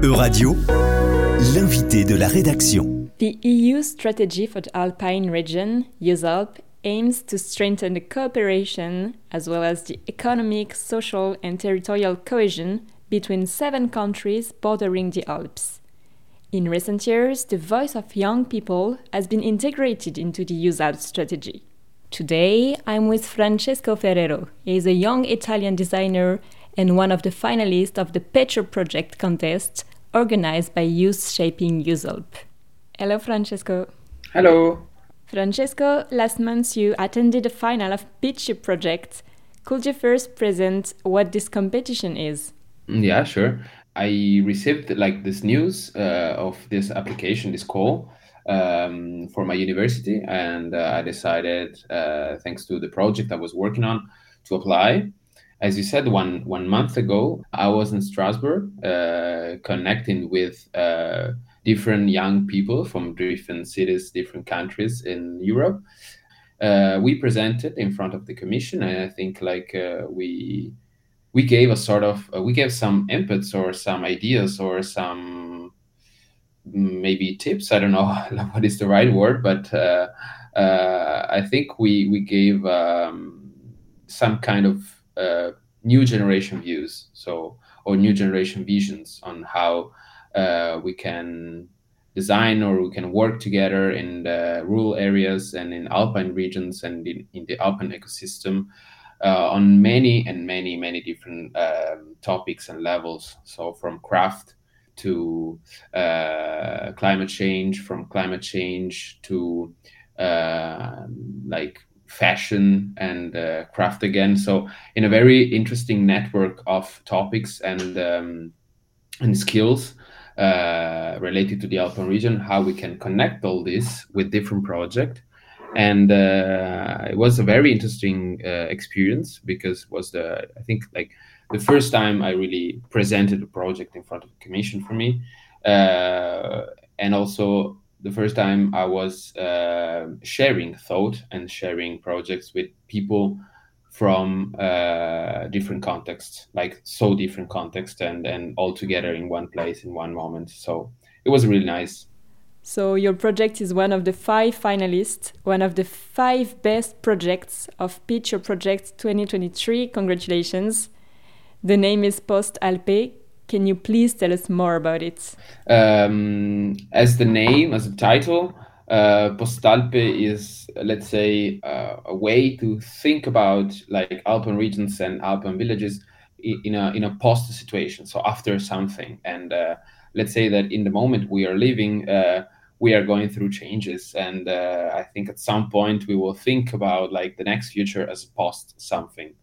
Euradio, l'invité de la rédaction. The EU strategy for the Alpine region, EUSALP, aims to strengthen the cooperation as well as the economic, social and territorial cohesion between 7 countries bordering the Alps. In recent years, the voice of young people has been integrated into the EUSALP strategy. Today, I'm with Francesco Ferrero. He is a young Italian designer and one of the finalists of the Petro Project contest organized by Youth Shaping EUSALP. Hello, Francesco. Hello. Francesco, last month you attended the final of Petro Project. Could you first present what this competition is? Yeah, sure. I received this news of this application, this call for my university, and I decided, thanks to the project I was working on, to apply. As you said, one month ago, I was in Strasbourg connecting with different young people from different cities, different countries in Europe. We presented in front of the commission, and I think we gave we gave some inputs or some ideas or some maybe tips. I don't know what is the right word, but I think we gave some kind of new generation views, or new generation visions on how we can design or we can work together in the rural areas and in Alpine regions and in the Alpine ecosystem on many different topics and levels. So from craft to climate change, from climate change to fashion and craft again. So in a very interesting network of topics and skills related to the Alpine region, how we can connect all this with different projects. And it was a very interesting experience because it was the first time I really presented a project in front of the commission for me, and also the first time I was sharing thought and sharing projects with people from different contexts, different contexts, and all together in one place in one moment. So it was really nice. So your project is one of the 5 finalists, one of the 5 best projects of Petro Project 2023. Congratulations. The name is Post-Alpes. Can you please tell us more about it? As the title, Post-Alpes is, let's say, a way to think about Alpine regions and Alpine villages in a post situation, so after something. And let's say that in the moment we are living, we are going through changes, and I think at some point we will think about the next future as post something.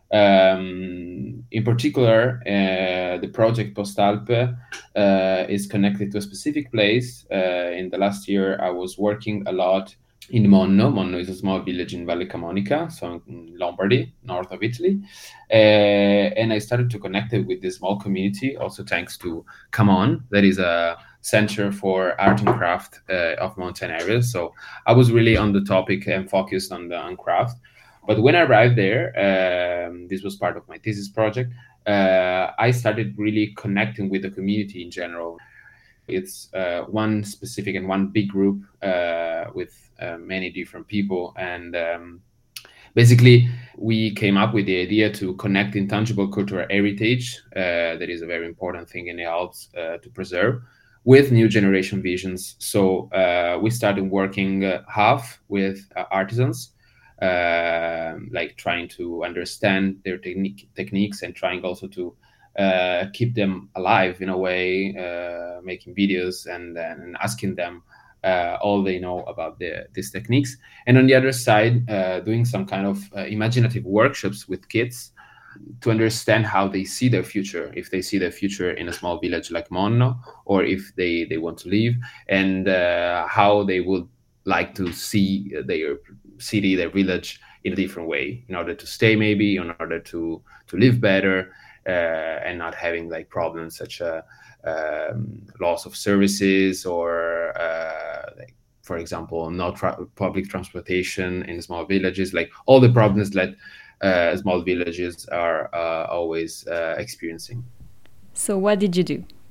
In particular, the project Post-Alpes is connected to a specific place. In the last year, I was working a lot in Monno. Monno is a small village in Valle Camonica, so in Lombardy, north of Italy. And I started to connect it with this small community, also thanks to Come On, that is a center for art and craft of mountain areas. So I was really on the topic and focused on craft. But when I arrived there, this was part of my thesis project, I started really connecting with the community in general. It's one specific and one big group with many different people. And basically, we came up with the idea to connect intangible cultural heritage, that is a very important thing in the Alps to preserve, with new generation visions. So we started working half with artisans, trying to understand their techniques and trying also to keep them alive in a way, making videos and asking them all they know about these techniques. And on the other side, doing some kind of imaginative workshops with kids to understand how they see their future, if they see their future in a small village like Monno, or if they want to leave, and how they would like to see their city, their village in a different way, in order to stay, maybe in order to live better, and not having problems such as loss of services or for example, no public transportation in small villages, all the problems that small villages are always experiencing. So what did you do?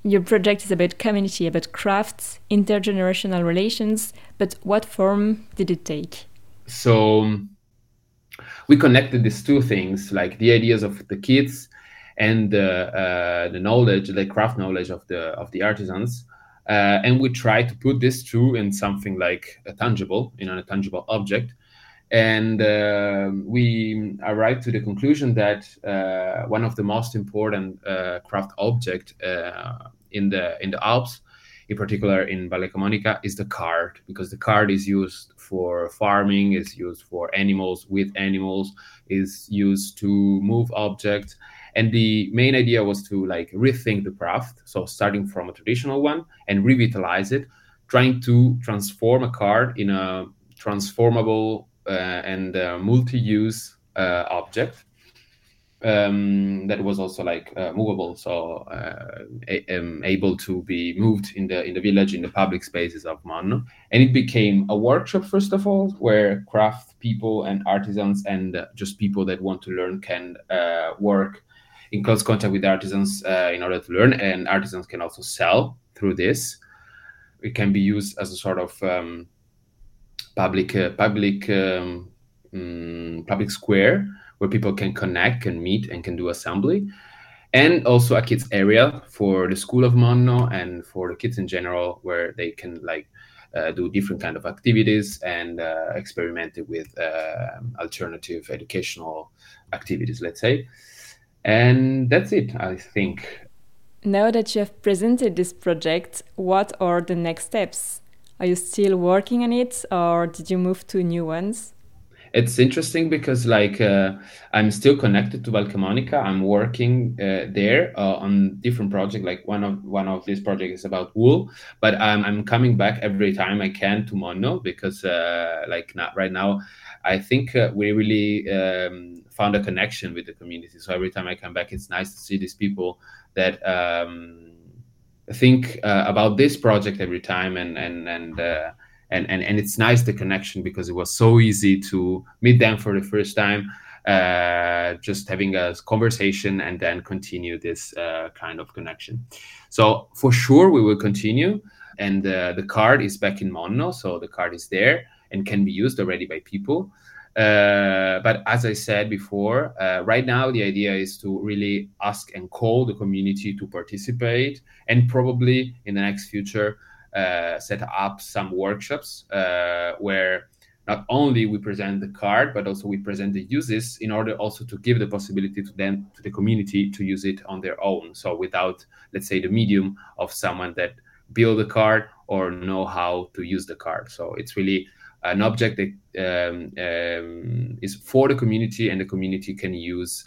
Your project is about community, about crafts, intergenerational relations, but what form did it take? So we connected these two things, like the ideas of the kids and the knowledge, the craft knowledge of the artisans, and we tried to put this two in something like a tangible, a tangible object. And we arrived to the conclusion that one of the most important craft object in the Alps, in particular in Valle Camonica, is the cart, because the cart is used for farming, is used for animals, with animals, is used to move objects. And the main idea was to like rethink the craft, so starting from a traditional one and revitalize it, trying to transform a cart in a transformable and multi-use object that was also like movable, so able to be moved in the village, in the public spaces of Monno. And it became a workshop, first of all, where craft people and artisans and just people that want to learn can work in close contact with artisans in order to learn, and artisans can also sell through this. It can be used as a sort of public square where people can connect, can meet, and can do assembly, and also a kids area for the school of Monno and for the kids in general, where they can like do different kind of activities and experiment with alternative educational activities, let's say. And that's it, I think. Now that you have presented this project, what are the next steps? Are you still working on it, or did you move to new ones? It's interesting because like I'm still connected to Val Camonica. I'm working there on different projects. Like one of these projects is about wool, but I'm coming back every time I can to Monno, because like not right now, I think we really found a connection with the community. So every time I come back, it's nice to see these people that think about this project every time, and it's nice, the connection, because it was so easy to meet them for the first time, just having a conversation and then continue this kind of connection. So for sure we will continue, and the card is back in Monno, so the card is there and can be used already by people. But as I said before, right now the idea is to really ask and call the community to participate, and probably in the next future set up some workshops where not only we present the card, but also we present the uses, in order also to give the possibility to the community to use it on their own. So without, let's say, the medium of someone that build the card or know how to use the card. So it's really an object that is for the community, and the community can use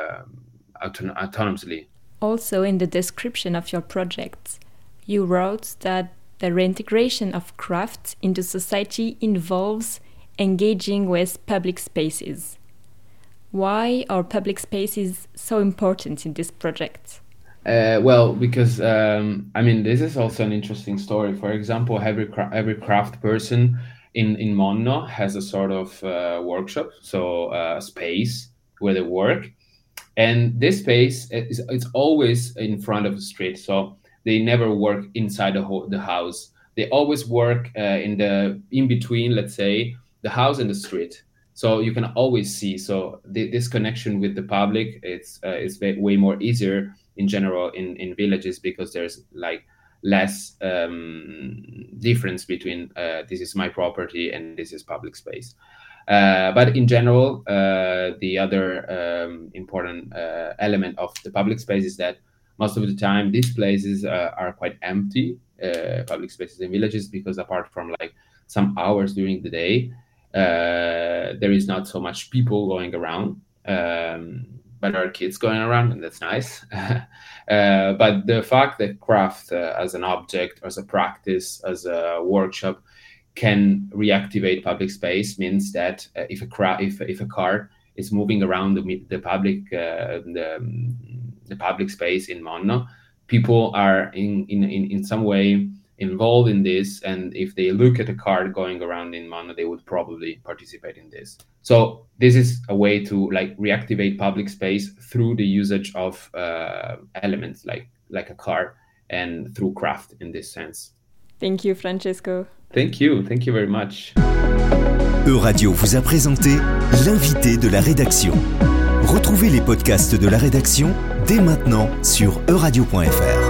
autonomously. Also, in the description of your project, you wrote that the reintegration of craft into society involves engaging with public spaces. Why are public spaces so important in this project? Well, because this is also an interesting story. For example, every craft person in Monno has a sort of workshop, so a space where they work, and this space it's always in front of the street. So they never work inside the house. They always work in between, let's say, the house and the street. So you can always see. So this connection with the public, it's way more easier in general in villages, because there's like less difference between this is my property and this is public space. But in general, the other important element of the public space is that most of the time these places are quite empty, public spaces in villages, because apart from like some hours during the day, there is not so much people going around, but there are kids going around, and that's nice. But the fact that craft as an object, as a practice, as a workshop can reactivate public space means that if a car is moving around the public space in Monno, people are in some way involved in this, and if they look at a car going around in Monno, they would probably participate in this. So this is a way to like reactivate public space through the usage of elements like a car, and through craft in this sense. Thank you, Francesco. Thank you very much. Euradio vous a présenté l'invité de la rédaction. Retrouvez les podcasts de la rédaction dès maintenant sur euradio.fr.